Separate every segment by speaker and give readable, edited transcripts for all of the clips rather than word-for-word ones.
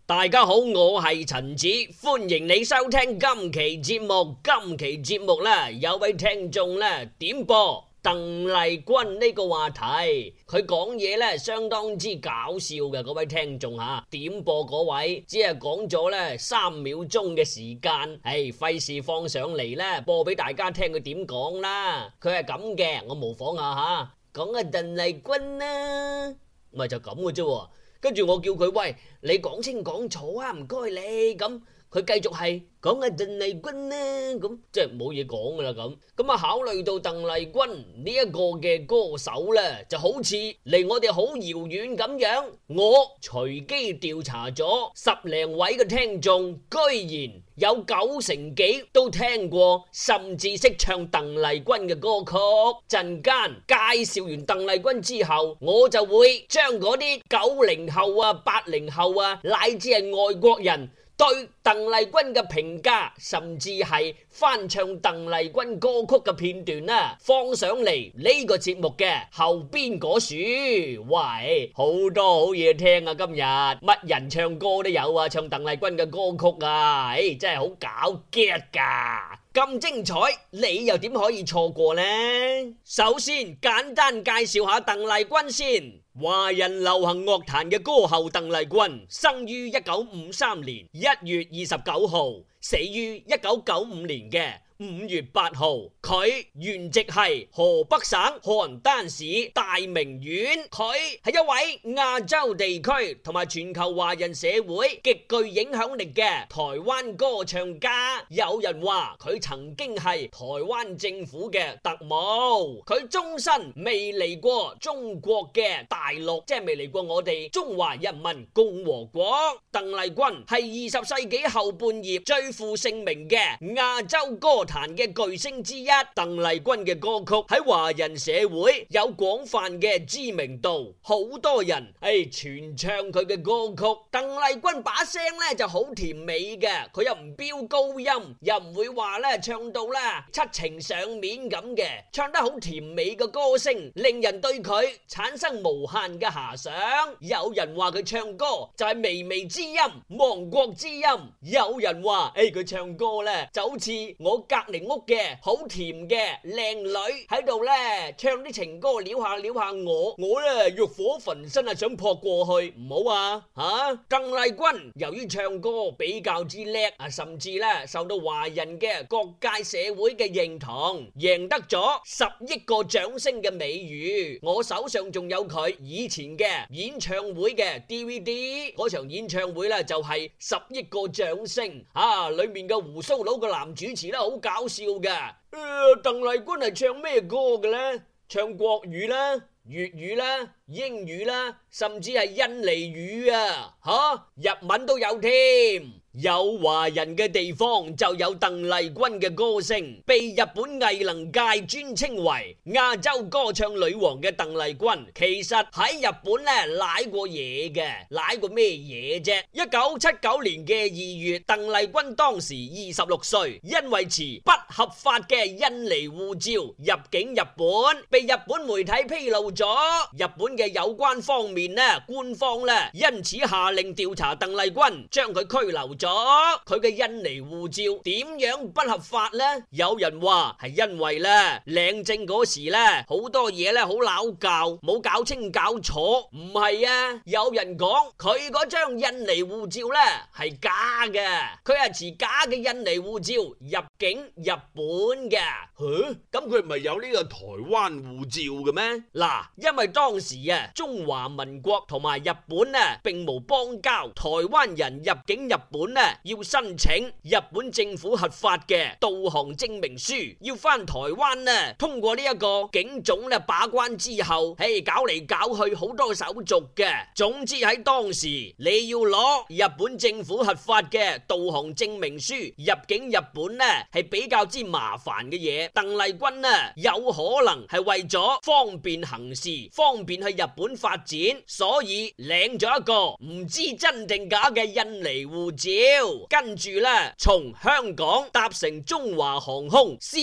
Speaker 1: 大家好，我係陳子，歡迎你收聽今期節目。今期節目呢，有位聽眾呢點播鄧麗君呢個話題，佢講嘢呢相當之搞笑嘅。嗰位聽眾吓點播嗰位，只係講咗呢3秒鐘嘅時間，費事放上嚟呢播俾大家聽佢點講啦。佢係咁嘅，我模仿下吓，講阿鄧麗君啦，咪就咁嘅啫。跟住我叫佢，喂，你講清講楚啊，唔該你。咁佢繼續係講阿鄧麗君啦，咁即係冇嘢講噶啦。咁啊，考慮到鄧麗君呢一個嘅歌手呢，就好似離我哋好遙遠咁樣，我隨機調查咗10零位嘅聽眾，居然有9成幾都聽過，甚至識唱鄧麗君嘅歌曲。陣間介紹完鄧麗君之後，我就會將嗰啲90後啊、80後啊，乃至係外國人對鄧麗君嘅評價，甚至係翻唱鄧麗君歌曲嘅片段啦，放上嚟呢個節目嘅後邊嗰處。喂，好多好嘢聽啊！今日乜人唱歌都有啊，唱鄧麗君嘅歌曲啊，真係好搞 get 噶！咁精彩，你又點可以錯過呢？首先簡單介紹下鄧麗君先。華人流行樂壇嘅歌后鄧麗君，生於1953年1月29號，死於1995年嘅5月8號，佢原籍係河北省邯鄲市大名縣，佢係一位亞洲地區同埋全球華人社會極具影響力嘅台灣歌唱家。有人話佢曾經係台灣政府嘅特務，佢終身未嚟過中國嘅大陸，即係未嚟過我哋中華人民共和國。鄧麗君係20世紀後半葉最負盛名嘅亞洲歌壇嘅巨星之一。鄧麗君嘅歌曲喺華人社會有廣泛嘅知名度，好多人傳唱佢嘅歌曲。鄧麗君把聲咧就好甜美嘅，佢又唔飆高音，又唔會話咧唱到咧七情上面咁嘅，唱得好甜美嘅歌聲，令人對佢產生無限嘅遐想。有人話佢唱歌就係微微之音、亡國之音，有人話佢唱歌咧就好似我隔籬屋嘅好甜嘅靚女喺度咧唱啲情歌，撩下撩下我咧欲火焚身啊，想撲過去，唔好啊吓！鄧麗君由於唱歌比較之叻啊，甚至咧受到華人嘅各界社會嘅認同，贏得咗10億個掌聲嘅美譽。我手上仲有佢以前嘅演唱會嘅 DVD， 嗰場演唱會咧就係10億個掌聲啊！裏面嘅鬍鬚佬個男主持咧好搞笑嘅。鄧麗君係唱咩歌嘅呢？唱國語啦、粵語啦、英語啦，甚至係印尼語啊，日文都有添。有華人嘅地方就有鄧麗君嘅歌聲，被日本藝能界尊稱為亞洲歌唱女王嘅鄧麗君，其實喺日本咧舐過嘢嘅，舐過咩嘢啫？1979年嘅2月，鄧麗君當時26歲，因為持不合法嘅印尼護照入境日本，被日本媒體披露咗。日本嘅有關方面咧，官方咧因此下令調查鄧麗君，將佢拘留咗。佢嘅印尼護照點樣不合法呢？有人話係因為咧領證嗰時咧好多嘢咧好拗教，冇搞清搞楚。唔係啊，有人講佢嗰張印尼護照咧係假嘅，佢係持假嘅印尼護照入境日本嘅。
Speaker 2: 咁佢唔係有呢個台灣護照嘅咩？
Speaker 1: 嗱，因為當時中華民國同埋日本並無邦交，台灣人入境日本要申請日本政府核發嘅導航證明書，要返台灣通過呢一個警總把關之後，搞嚟搞去好多手續嘅。總之喺當時你要攞日本政府核發嘅導航證明書入境日本係比較之麻煩嘅嘢。鄧麗君有可能係為咗方便行事，方便去日本發展，所以領咗一個唔知真定假嘅印尼護照，跟住從香港搭乘中華航空 C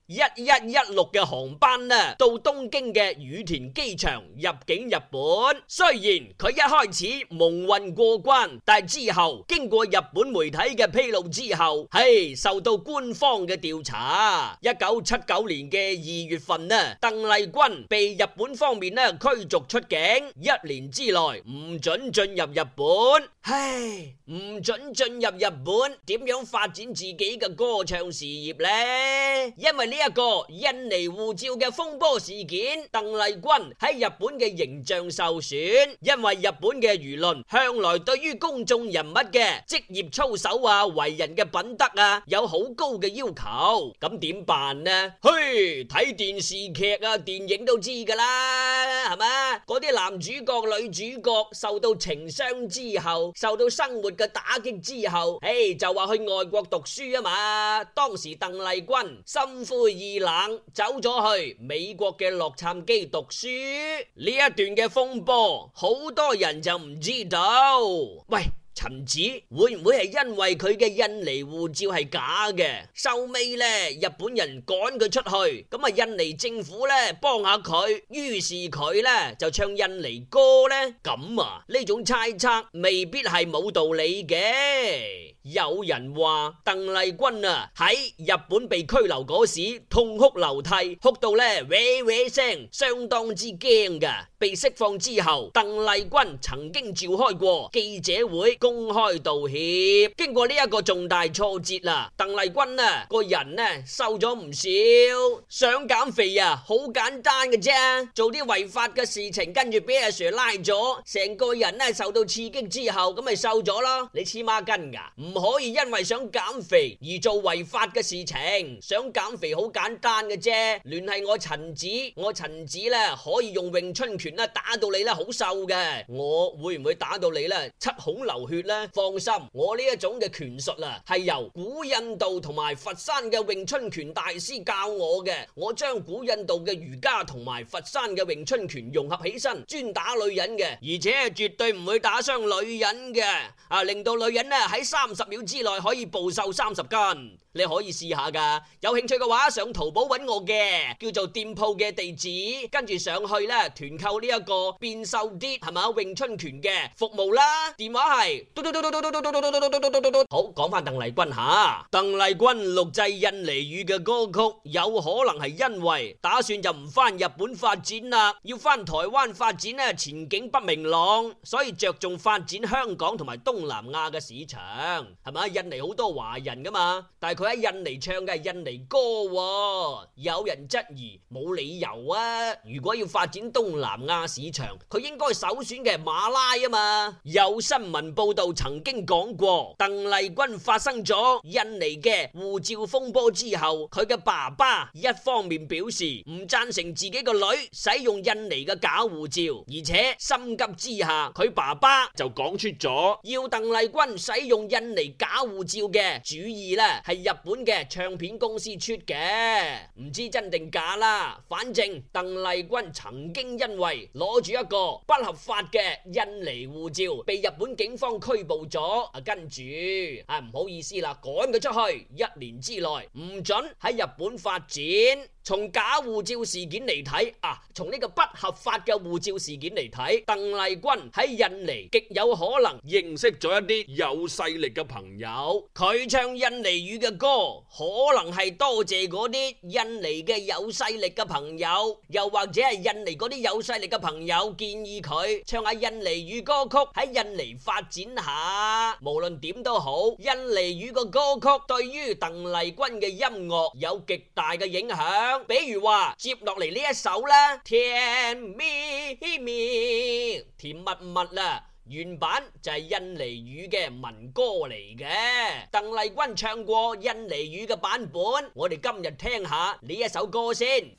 Speaker 1: 1116嘅航班呢，到東京嘅羽田機場入境日本。雖然佢一開始蒙混過關，但係之後經過日本媒體嘅披露之後，受到官方嘅調查。1979年嘅2月份呢，鄧麗君被日本方面呢驅逐出境，1年之內唔准進入日本。唔准進入日本，點樣發展自己嘅歌唱事業呢？因為呢一個印尼護照嘅風波事件，鄧麗君喺日本嘅形象受損。因為日本嘅輿論向來對於公眾人物嘅職業操守啊、為人嘅品德啊有好高嘅要求，咁點辦呢？睇電視劇啊、電影都知噶啦，係嘛？嗰啲男主角、女主角受到情傷之後，受到生活嘅打擊之後，就話去外國讀書啊嘛。當時鄧麗君心灰意冷，走咗去美國嘅洛杉磯讀書。呢一段嘅風波，好多人就唔知道。喂，陳子會唔會係因為佢嘅印尼護照係假嘅，收尾呢日本人趕佢出去，咁啊印尼政府呢幫下佢，於是佢呢就唱印尼歌呢？咁啊呢種猜測未必係冇道理嘅。有人話鄧麗君啊喺日本被拘留嗰時痛哭流涕，哭到呢喂喂聲，相當之驚噶。被釋放之後，鄧麗君曾經召開過記者會公開道歉。經過呢一個重大挫折啦，鄧麗君啊個人呢瘦咗唔少，想減肥啊好簡單嘅啫，做啲違法嘅事情，跟住俾阿 Sir 拉咗，成個人呢受到刺激之後，咁咪瘦咗咯。你黐孖筋噶？唔可以因為想減肥而做違法嘅事情。想減肥好簡單嘅啫，聯繫我陳子，我陳子呢可以用詠春拳打到你好瘦嘅。我會唔會打到你七孔流血呢？放心，我呢一種嘅拳術係由古印度同埋佛山嘅詠春拳大師教我嘅。我將古印度嘅瑜伽同埋佛山嘅詠春拳融合起身，專打女人嘅，而且絕對唔會打傷女人嘅，令到女人喺30秒之內可以暴瘦30斤。你可以試下噶，有興趣嘅話上淘寶揾我嘅，叫做店鋪嘅地址，跟住上去團購呢一個變瘦啲係咪詠春拳嘅服務啦。電話係好。講翻鄧麗君吓，鄧麗君錄製印尼語嘅歌曲，有可能係因為打算就唔翻日本發展啦，要翻台灣發展前景不明朗，所以着重發展香港同埋東南亞嘅市場，係咪？印尼好多華人噶嘛，但係佢喺印尼唱嘅係印尼歌，有人質疑冇理由啊。如果要發展東南亞市場，佢應該首選嘅係馬拉啊嘛。有新聞報道曾經講過，鄧麗君發生咗印尼嘅護照風波之後，佢嘅爸爸一方面表示唔贊成自己個女使用印尼嘅假護照，而且心急之下，佢爸爸就講出咗要鄧麗君使用印尼假護照嘅主意係日本嘅唱片公司出嘅，唔知真定假啦。反正鄧麗君曾經因為攞住一個不合法嘅印尼護照，被日本警方拘捕咗，跟住唔好意思啦，趕佢出去，1年之內唔准喺日本發展。從假護照事件嚟睇，從呢個不合法嘅護照事件嚟睇，鄧麗君喺印尼極有可能認識咗一啲有勢力嘅朋友，佢唱印尼語嘅歌，可能係多謝嗰啲印尼嘅有勢力嘅朋友，又或者係印尼嗰啲有勢力嘅朋友建議佢唱下印尼語歌曲喺印尼發展下。無論點都好，印尼語嘅歌曲對於鄧麗君嘅音樂有極大嘅影響。比如話接落嚟呢一首啦，甜蜜蜜甜蜜蜜啦，原版就係印尼語嘅民歌嚟嘅，鄧麗君唱過印尼語嘅版本，我哋今日聽下呢一首歌先。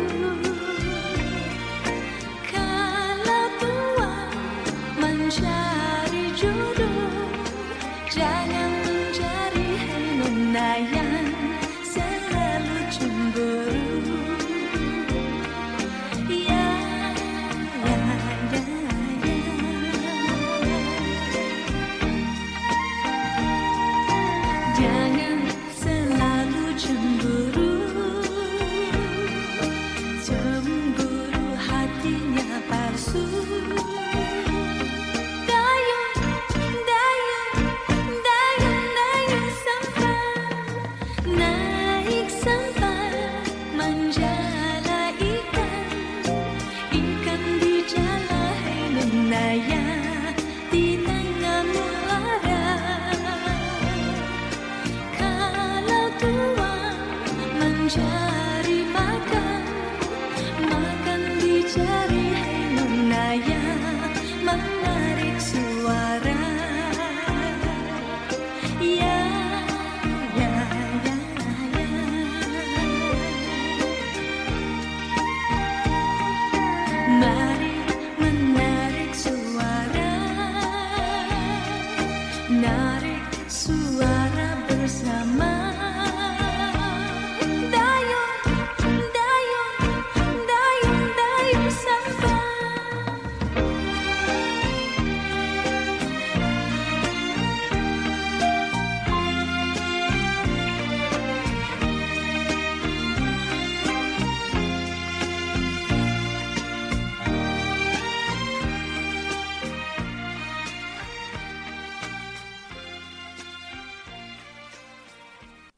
Speaker 3: Kalau tuan mencari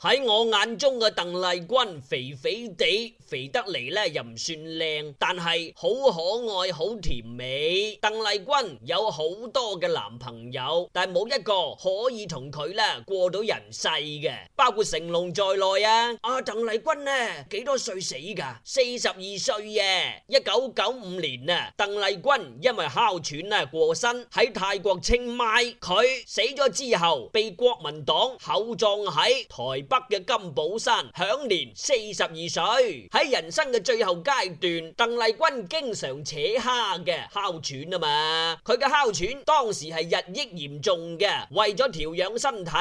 Speaker 1: 喺我眼中嘅鄧麗君肥肥地，肥得嚟咧又唔算靚，但係好可愛好甜美。鄧麗君有好多嘅男朋友，但係冇一個可以同佢咧過到人世嘅，包括成龍在內啊。鄧麗君呢幾多歲死噶？42歲嘅。1995年啊，鄧麗君因為哮喘啊過身，喺泰國清邁。佢死咗之後被國民黨厚葬喺台北嘅金寶山，享年42歲。喺人生嘅最後階段，鄧麗君經常扯蝦嘅哮喘啊嘛，佢嘅哮喘當時係日益嚴重嘅，為咗調養身體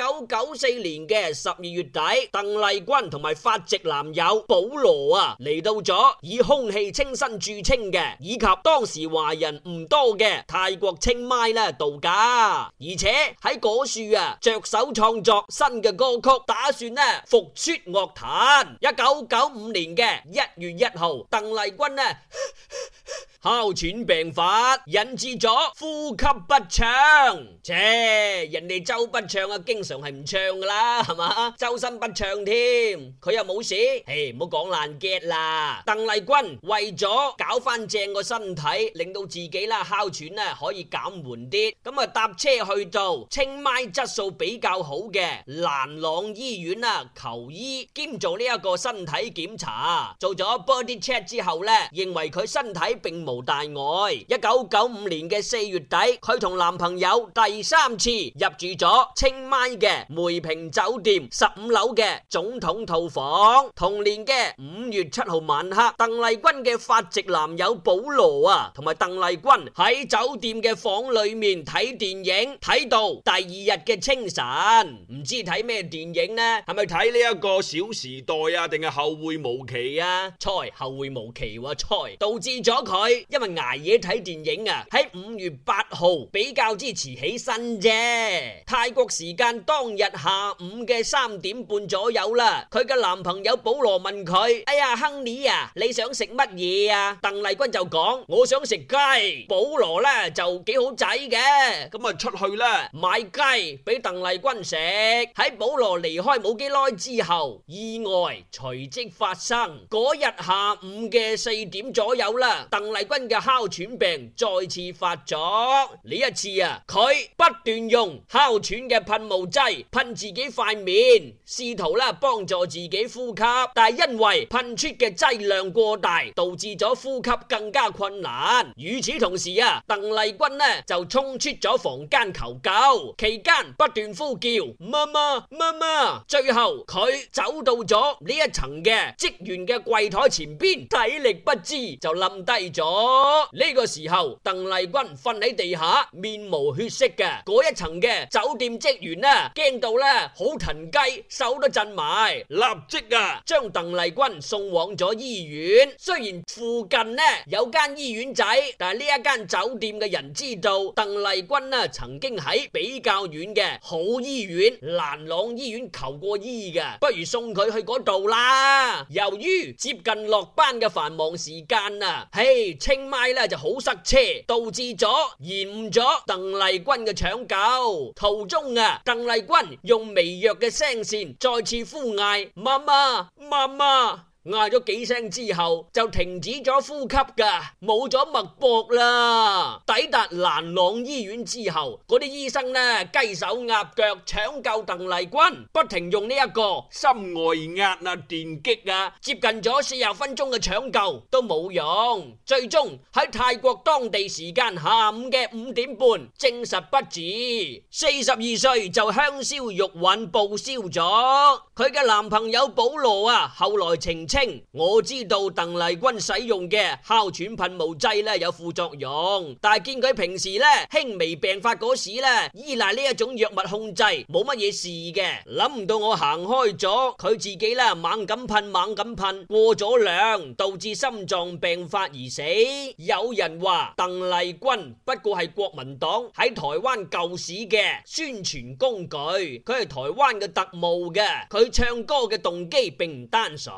Speaker 1: ，1994年嘅12月底，鄧麗君同埋法籍男友保羅啊嚟到咗以空氣清新著稱嘅，以及當時華人唔多嘅泰國清邁啦度假，而且喺嗰處啊着手創作新嘅歌曲，打算呢復出樂壇。1995年嘅1月1號，鄧麗君呢哮喘病發，引致咗呼吸不暢。人哋周不暢啊，經常係唔唱噶啦，係嘛？周身不暢添，佢又冇事。唔好講爛 get 啦。鄧麗君為咗搞翻正個身體，令到自己啦哮喘咧可以減緩啲，咁啊搭車去到清邁質素比較好嘅蘭朗醫院啊求醫，兼做呢一個身體檢查，做咗 body check 之後咧，認為佢身體並無大礙。1995年嘅4月底，佢同男朋友第3次入住咗清邁嘅梅平酒店15樓嘅總統套房。同年嘅5月7號晚黑，鄧麗君嘅法籍男友保羅啊，同埋鄧麗君喺酒店嘅房裏面睇電影，睇到第2日嘅清晨。唔知睇咩電影呢？
Speaker 2: 係咪睇呢一個小時代啊，定係後會無期啊？
Speaker 1: 後會無期喎，導致咗佢因為捱夜睇電影啊，喺5月8號比較之遲起身啫。泰國時間當日下午嘅3點半左右啦，佢嘅男朋友保羅問佢：哎呀，亨利啊，你想食乜嘢啊？鄧麗君就講：我想食雞。保羅呢就幾好仔嘅，
Speaker 2: 咁啊出去啦，
Speaker 1: 買雞俾鄧麗君食。喺保羅離開冇幾耐之後，意外隨即發生。嗰日下午嘅4點左右啦，鄧麗君嘅哮喘病再次發作。呢一次啊，佢不斷用哮喘嘅噴霧劑噴自己塊面，試圖啦幫助自己呼吸，但係因為噴出嘅劑量過大，導致咗呼吸更加困難。與此同時啊，鄧麗君呢就衝出咗房間求救，期間不斷呼叫媽媽媽媽。最後佢走到咗呢一層嘅職員嘅櫃台前邊，體力不支就冧低咗。呢個時候，鄧麗君瞓喺地下，面無血色嘅。嗰一層嘅酒店職員呢，驚到呢好騰雞，手都震埋，
Speaker 2: 立即啊
Speaker 1: 將鄧麗君送往咗醫院。雖然附近呢有間醫院仔，但係呢一間酒店嘅人知道鄧麗君呢曾經喺比較遠嘅好醫院蘭朗醫院求過醫嘅，不如送佢去嗰度啦。由於接近落班嘅繁忙時間啊，清邁咧就好塞車，導致咗延誤咗鄧麗君嘅搶救。途中啊，鄧麗君用微弱嘅聲線再次呼嗌媽媽媽媽，嗌咗幾聲之後就停止咗呼吸噶，冇咗脈搏啦。抵達蘭朗醫院之後，嗰啲醫生呢雞手鴨腳搶救鄧麗君，不停用呢一個
Speaker 2: 心外壓啊、電擊啊，
Speaker 1: 接近咗40分鐘嘅搶救都冇用，最終喺泰國當地時間下午嘅5點半證實不治。42歲就香消玉殞報銷咗。佢嘅男朋友保羅啊，後來澄清，我知道鄧麗君使用嘅哮喘噴霧劑咧有副作用，但係見佢平時咧輕微病發嗰時咧依賴呢一種藥物控制，冇乜嘢事嘅。諗唔到我行開咗，佢自己咧猛咁噴，過咗量，導致心臟病發而死。有人話鄧麗君不過係國民黨喺台灣舊市嘅宣傳工具，佢係台灣嘅特務嘅，佢唱歌嘅動機並唔單純。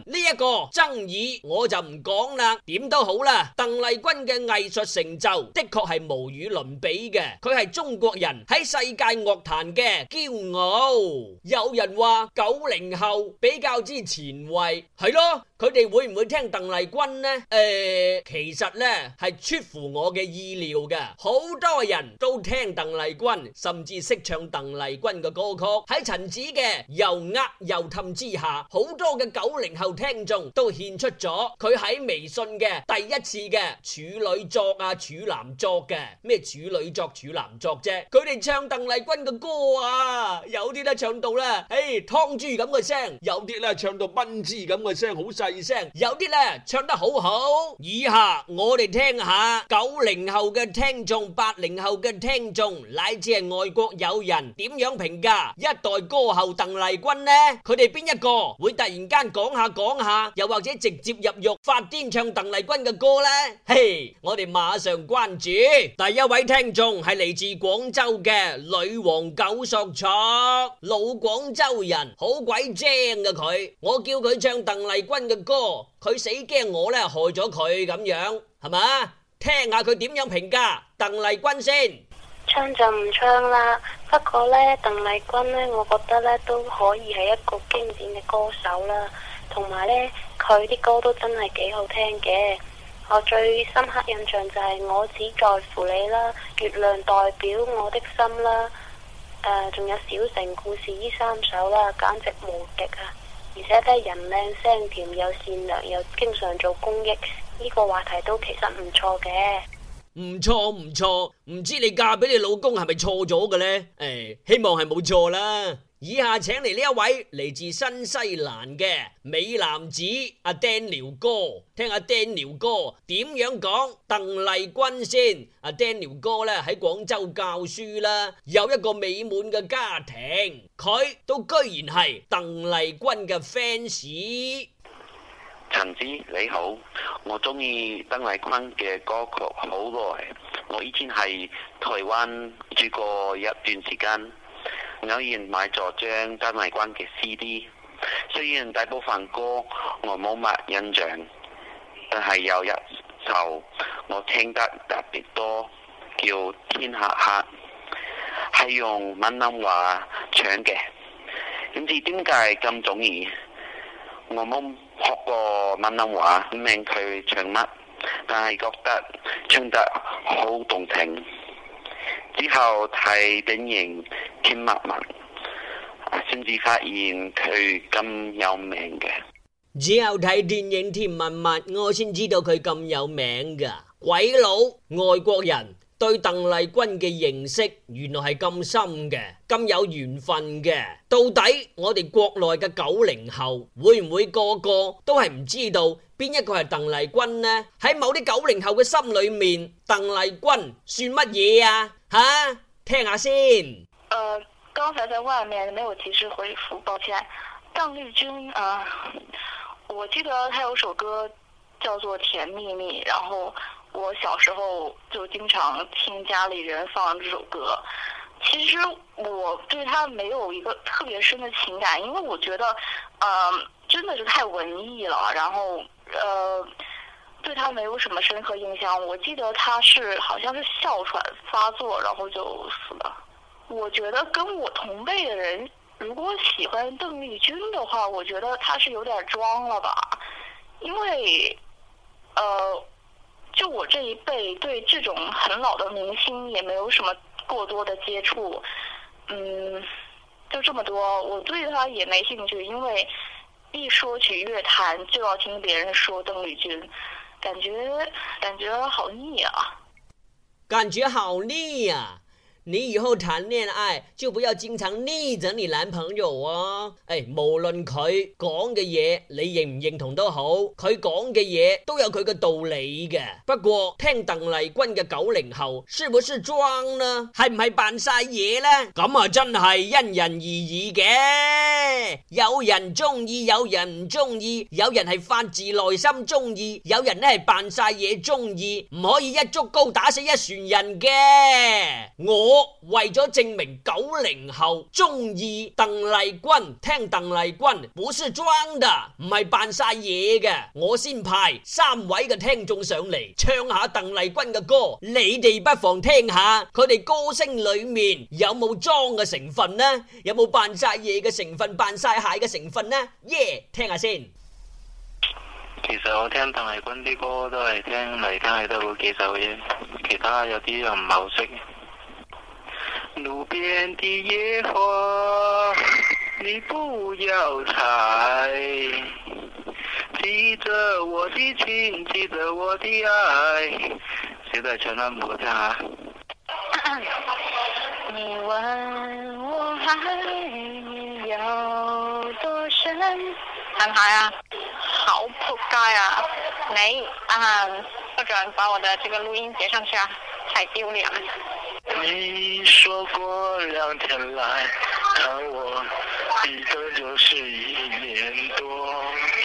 Speaker 1: 呢一個爭議我就唔講啦。點都好啦，鄧麗君嘅藝術成就的確係無與倫比嘅，佢係中國人喺世界樂壇嘅驕傲。有人話90後比較之前衛，係咯，佢哋會唔會聽鄧麗君呢？其實呢係出乎我嘅意料嘅，好多人都聽鄧麗君，甚至識唱鄧麗君嘅歌曲。喺陳子嘅又呃又氹之下，好多嘅90後聽眾都獻出咗佢喺微信嘅第一次嘅處女作啊、處男作嘅咩處女作、處男作啫。佢哋唱鄧麗君嘅歌啊，有啲咧唱到咧，湯豬咁嘅聲，有啲咧唱到賓豬咁嘅聲，好細聲，有啲咧唱得好好。以下我哋聽下90後嘅聽眾、80後嘅聽眾，乃至係外國友人點樣評價一代歌后鄧麗君呢？佢哋邊一個會突然間講下，又或者直接入獄發癲唱鄧麗君嘅歌呢？嘿，我哋馬上關注第一位聽眾，係嚟自廣州嘅女王九索索，老廣州人，好鬼精嘅佢。我叫佢唱鄧麗君嘅歌，佢死驚我咧害咗佢咁樣，係嘛？聽下佢點樣評價鄧麗君先。
Speaker 3: 唱就唔唱啦，不過呢，鄧麗君呢，我覺得呢都可以係一個經典嘅歌手啦，同埋呢，佢啲歌都真係幾好聽嘅。我最深刻印象就係我只在乎你啦，月亮代表我的心啦，仲有小城故事呢3首啦，簡直無敵啊！而且呢，人靚聲甜又善良又經常做公益，呢個話題都其實唔錯嘅。
Speaker 1: 唔錯，唔知你嫁俾你老公係咪錯咗嘅呢？希望係冇錯啦。以下請嚟呢一位嚟自新西蘭嘅美男子阿 Daniel 哥，聽下 Daniel 哥點樣講鄧麗君先。阿 Daniel 哥咧喺廣州教書啦，有一個美滿嘅家庭，佢都居然係鄧麗君嘅 fans。
Speaker 4: 陳子你好，我中意鄧麗君嘅歌曲好耐。我以前喺台灣住過一段時間，偶然買咗張鄧麗君嘅 CD。雖然大部分歌我冇乜印象，但係有一首我聽得特別多，叫《天黑黑》，係用閩南話唱嘅。唔知點解咁中意？我冇學過閩南話，唔明佢唱乜，但係覺得唱得好動聽。之後睇電影《甜蜜蜜》，先至發現佢咁有名嘅。
Speaker 1: 之後睇電影《甜蜜蜜》，我先知道佢咁有名㗎。鬼佬外國人對鄧麗君嘅認識原來係咁深嘅，咁有緣分嘅。到底我哋國內嘅90後會唔會個個都係唔知道邊一個係鄧麗君呢？喺某啲90後嘅心裏面，鄧麗君算乜嘢啊？吓，聽下先。
Speaker 3: 剛才在外面沒有及時回復，抱歉。鄧麗君我記得她有首歌叫做《甜蜜蜜》，然後我小時候就經常聽家裏人放這首歌。其實我對他沒有一個特別深的情感，因為我覺得真的是太文藝了，然後對他沒有什麼深刻印象。我記得他是好像是哮喘發作，然後就死了。我覺得跟我同輩的人如果喜歡鄧麗君的話，我覺得他是有點裝了吧，因為就我這一輩對這種很老的明星也沒有什麼過多的接觸，就這麼多，我對他也沒興趣，因為一說起樂壇就要聽別人說鄧麗君，感覺好膩啊！
Speaker 1: 感覺好膩啊！你以後談戀愛就不要經常膩着你男朋友啊！無論佢講嘅嘢你認唔認同都好，佢講嘅嘢都有佢嘅道理嘅。不過聽鄧麗君嘅90後是不是裝呢？係唔係扮晒嘢呢？咁啊真係因人而異嘅，有人中意，有人唔中意，有人係發自內心中意，有人咧係扮晒嘢中意，唔可以一竹篙打死一船人嘅。我我為咗證明90後中意鄧麗君，聽鄧麗君不是裝的，唔係扮晒嘢嘅，我先派3位嘅聽眾上嚟唱下鄧麗君嘅歌，你哋不妨聽下佢哋歌聲裏面有冇裝嘅成分呢？有冇扮晒嘢嘅成分、扮晒蟹嘅成分呢？聽下先。
Speaker 5: 其實我聽鄧麗君啲歌都係聽嚟聽去都嗰幾首啫，其他有啲又唔係好識。路邊的野花，你不要採，記着我的情，記着我的愛。小弟唱得唔好聽下。
Speaker 3: 你問我愛你有多深，係唔係啊？好仆街啊！你不准把我的這個錄音截上去啊，太丟臉了。
Speaker 5: 你說過2天來看我，一個就是1年多。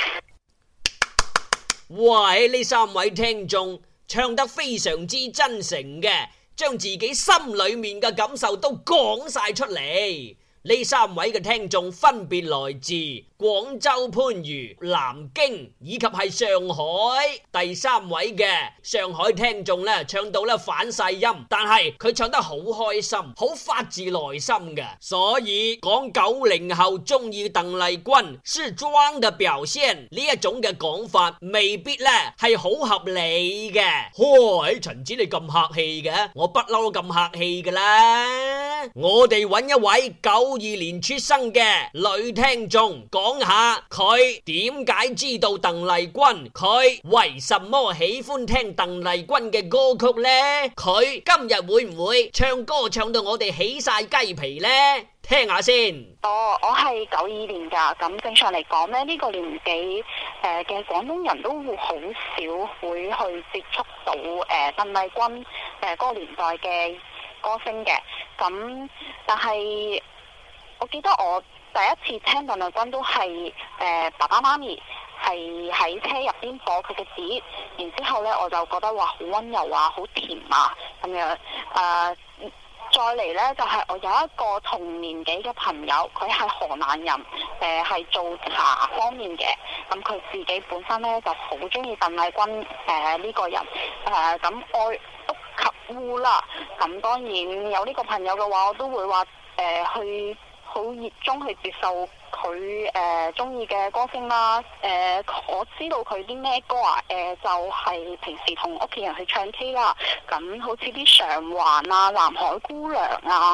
Speaker 1: 喂，呢3位聽眾唱得非常之真誠嘅，將自己心裏面嘅感受都講晒出嚟。呢3位嘅聽眾分別來自廣州番禺、南京以及係上海。第3位嘅上海聽眾呢，唱到呢反晒音，但係佢唱得好開心，好發自內心嘅。所以講90後中意鄧麗君是裝嘅表現呢一種嘅講法，未必呢係好合理嘅。喺陳子你咁客氣嘅，我不嬲咁客氣噶啦。我哋揾一位92年出生嘅女聽眾講下佢點解知道鄧麗君，佢為什麼喜歡聽鄧麗君嘅歌曲呢？佢今日會唔會唱歌唱到我哋起晒雞皮呢？聽下先。
Speaker 3: 我係92年噶，咁正常嚟講咧，呢個年紀嘅廣東人都會好少會去接觸到鄧麗君嗰個年代嘅歌星嘅，咁但係我記得我第一次聽鄧麗君都係爸爸媽咪係喺車入邊播佢嘅碟，然之後咧我就覺得哇好溫柔啊，好甜啊咁樣。再嚟咧就係我有一個同年紀嘅朋友，佢係河南人，係做茶方面嘅，咁佢自己本身咧就好中意鄧麗君呢個人，咁愛屋及烏啦。咁當然有呢個朋友嘅話，我都會話去好熱衷去接受佢中意嘅歌星啦。我知道佢啲咩歌啊，就係平時同屋企人去唱 K 啦。咁好似啲上環啊、南海姑娘啊、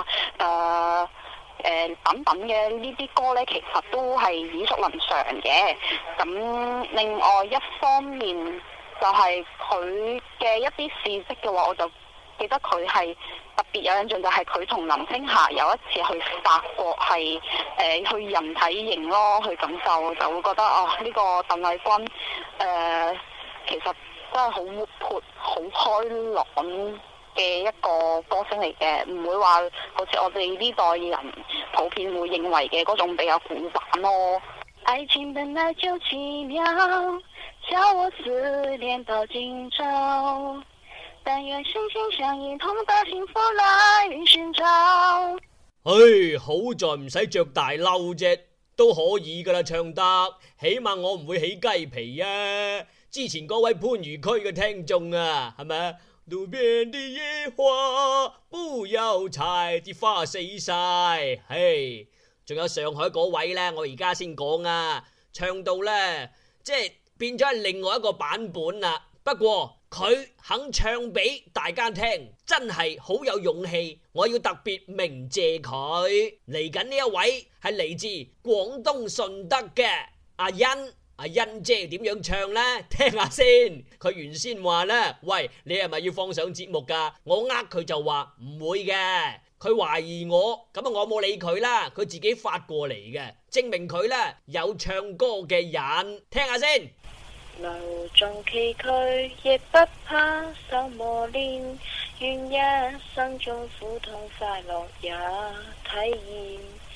Speaker 3: 等等嘅呢啲歌呢，其實都係耳熟能詳嘅。咁另外一方面就係佢嘅一啲事蹟嘅話，我就記得佢係特別有印象，就係佢同林青霞有一次去法國係去人體營咯，去感受，就會覺得呢個鄧麗君其實真係好活潑、好開朗嘅一個歌星嚟嘅，唔會話好似我哋呢代人普遍會認為嘅嗰種比較古板咯。愛情本來就奇妙，叫我思念到今朝，但願心心相印，同把幸福來尋找。
Speaker 1: 好在唔使着大褸啫，都可以噶啦，唱得，起碼我唔會起雞皮啊！之前嗰位番禺區嘅聽眾啊，係咪啊？路邊的野花不要採，啲花死晒。仲有上海嗰位呢，我而家先講啊，唱到呢，即係變咗係另外一個版本啦。不過佢肯唱俾大家聽，真係好有勇氣，我要特別鳴謝佢。嚟緊呢一位係嚟自廣東順德嘅阿欣。阿欣姐點樣唱呢？聽下先。佢原先話呢：喂，你係咪要放上節目噶？我佢就話唔會嘅，佢懷疑我，咁我冇理佢啦，佢自己發過嚟嘅，證明佢呢有唱歌嘅人。聽下先。
Speaker 6: 路縱崎嶇亦不怕受磨練，願一生中苦痛快樂也體驗。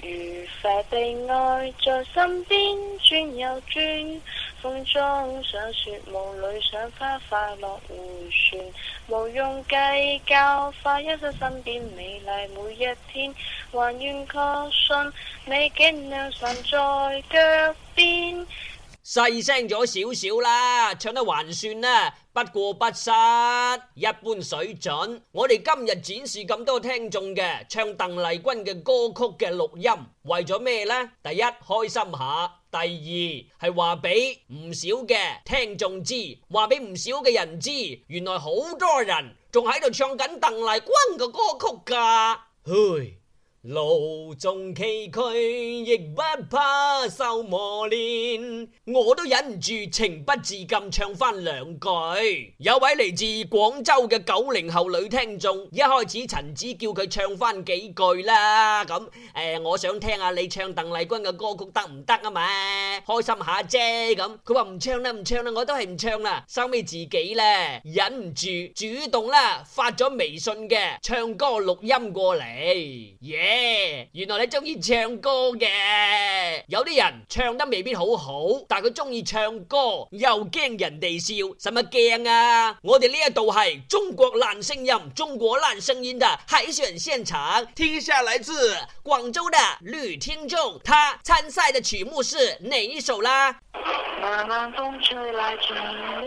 Speaker 6: 愉快悲哀在身邊轉又轉，風中想說夢裏想花，快樂回旋，無用計較，快一生身邊美麗每一天，還願確信美景良辰在腳邊。
Speaker 1: 細聲咗少少啦，唱得還算啦，不過不失，一般水準。我哋今日展示咁多聽眾嘅唱鄧麗君嘅歌曲嘅錄音，為咗咩呢？第一，開心下；第二，係話俾唔少嘅聽眾知，話俾唔少嘅人知，原來好多人仲喺度唱緊鄧麗君嘅歌曲㗎。嘿，路縱崎嶇，亦不怕受磨練。我都忍唔住情不自禁唱翻兩句。有位嚟自廣州嘅90後女聽眾，一開始陳子叫佢唱翻幾句啦。咁我想聽下你唱鄧麗君嘅歌曲得唔得啊嘛？開心下啫。咁佢話唔唱啦，唔唱啦，我都係唔唱啦。收尾自己咧忍唔住主動啦發咗微信嘅唱歌錄音過嚟。原來你中意唱歌嘅，有啲人唱得未必好好，但佢中意唱歌，又驚人哋笑，使乜驚啊？我哋呢一度係中國爛聲音，中國爛聲音的海選現場，聽下來自廣州的女聽眾，她參賽的曲目是哪一首啦？
Speaker 3: 慢慢風吹來清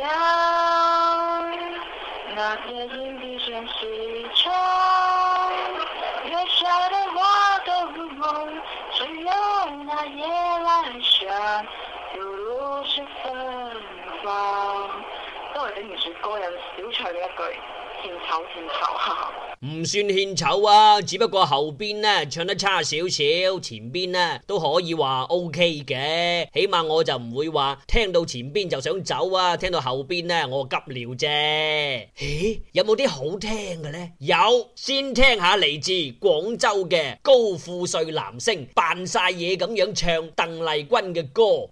Speaker 3: 涼，那片陰地先西窗，月下的花都如夢，只有那夜來香，猶如是芬芳。都係頂唔住個人少唱一句獻醜獻醜。
Speaker 1: 唔算獻醜啊，只不過後邊呢唱得差少少，前邊呢都可以話 OK 嘅，起碼我就唔會話聽到前邊就想走啊，聽到後邊呢我急尿啫。咦，有冇啲好聽嘅呢？有，先聽下嚟自廣州嘅高富帥男聲扮晒嘢咁樣唱鄧麗君嘅歌。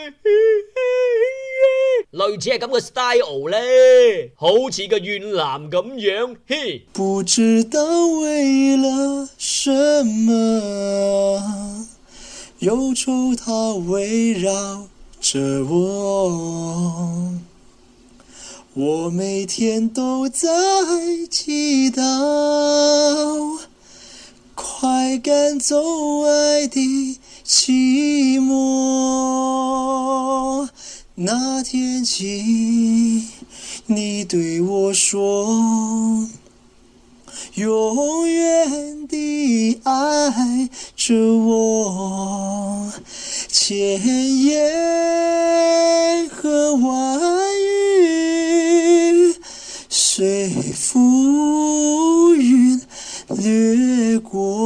Speaker 1: 類似係咁嘅 style 咧，好似個怨男咁樣，嘿。
Speaker 7: 不知道為了什麼，憂愁它圍繞着我，我每天都在祈禱，快趕走愛的寂寞。那天起你對我說永遠地愛着我，千言和萬語隨浮雲掠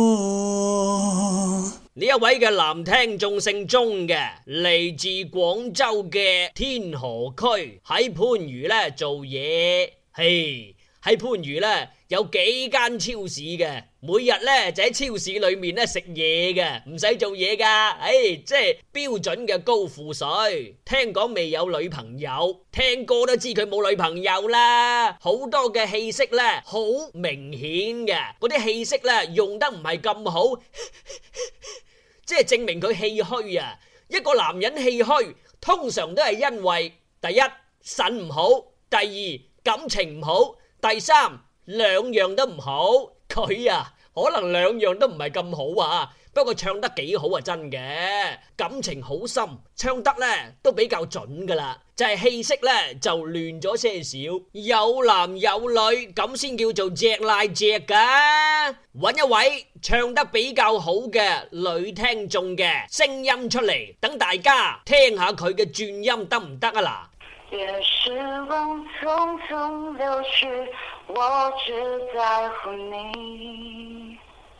Speaker 7: 過。
Speaker 1: 呢一位嘅男聽眾姓鍾嘅，嚟自廣州嘅天河區，喺番禺咧做嘢。嘿，喺番禺咧有幾間超市嘅，每日咧就喺超市裏面咧食嘢嘅，唔使做嘢噶。即係標準嘅高富帥。聽講未有女朋友，聽歌都知佢冇女朋友啦。好多嘅氣息咧好明顯嘅，嗰啲氣息咧用得唔係咁好。即係證明佢氣虛啊！一個男人氣虛，通常都係因為第一腎唔好，第二感情唔好，第三兩樣都唔好。佢啊，可能兩樣都唔係咁好啊。不過唱得幾好啊，真嘅，感情好深，唱得咧都比較準噶啦，就係氣息咧就亂咗些少，有男有女咁先叫做隻賴隻噶。揾一位唱得比較好嘅女聽眾嘅聲音出嚟，等大家聽下佢嘅轉音得唔得啊？嗱，
Speaker 3: 願時光匆匆流逝，我只在乎你，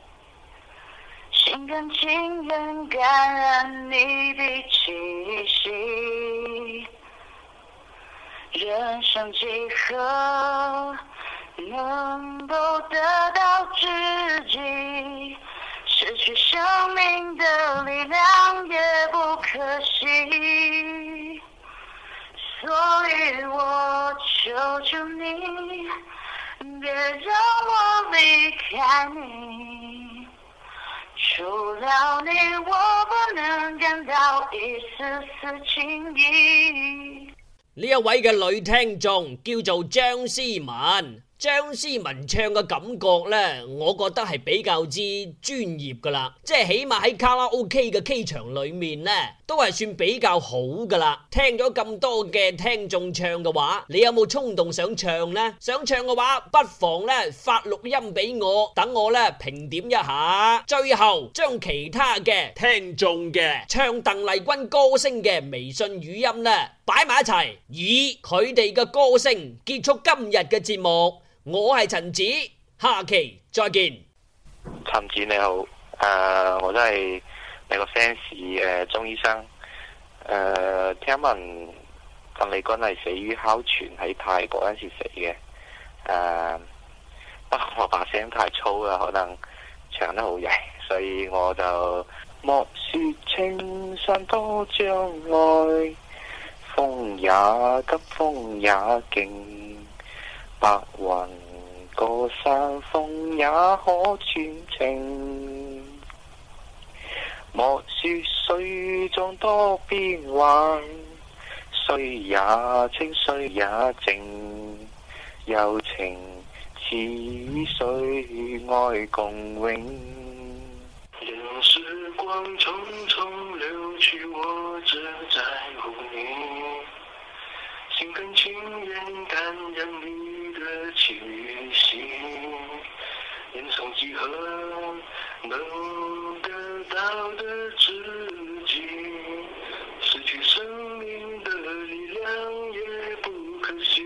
Speaker 3: 心甘情願感染你的氣息，人生幾何能夠得到知己，失去生命的力量也不可惜，所以我求求你，別讓我離開你， 除了你，我不能感到一絲絲情意。
Speaker 1: 呢一位嘅女聽眾叫做張思文。張思文唱嘅感覺呢，我覺得係比較之專業噶啦，即係起碼喺卡拉 OK 嘅 K 場裏面呢，都係算比較好噶啦。聽咗咁多嘅聽眾唱嘅話，你有冇衝動想唱呢？想唱嘅話，不妨呢發錄音俾我，等我呢評點一下。最後將其他嘅聽眾嘅唱鄧麗君歌聲嘅微信語音呢擺埋一齊，以佢哋嘅歌聲結束今日嘅節目。我係陳子，下期再見。
Speaker 5: 陳子你好，我都係你個 fans，鍾醫生。聽聞鄧麗君係死於哮喘，喺泰國嗰陣時死嘅。不過我把聲太粗啦，可能唱得好曳，所以我就莫說青山多障礙，風也急風也勁。白雲過山峰也可傳情，莫說水中多變幻，水也清水也靜，柔情似水愛共永。
Speaker 8: 任時光匆匆流去，我只在乎你，心甘情願感染你的氣息，人生幾何能得到的知己，失去生命的力量也不可惜。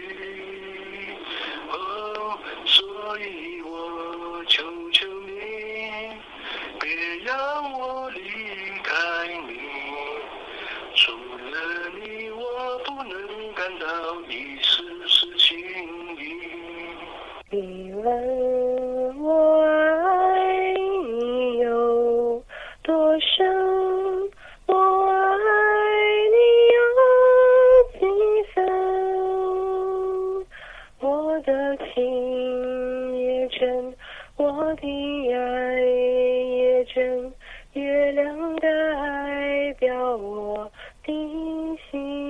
Speaker 8: 哦，所以我求求你，別讓我離開你，除了你我不能感到一絲絲情意。
Speaker 6: 你問我愛你有多深，我愛你有幾分，我的情也真，我的愛也真，月亮代表我的心。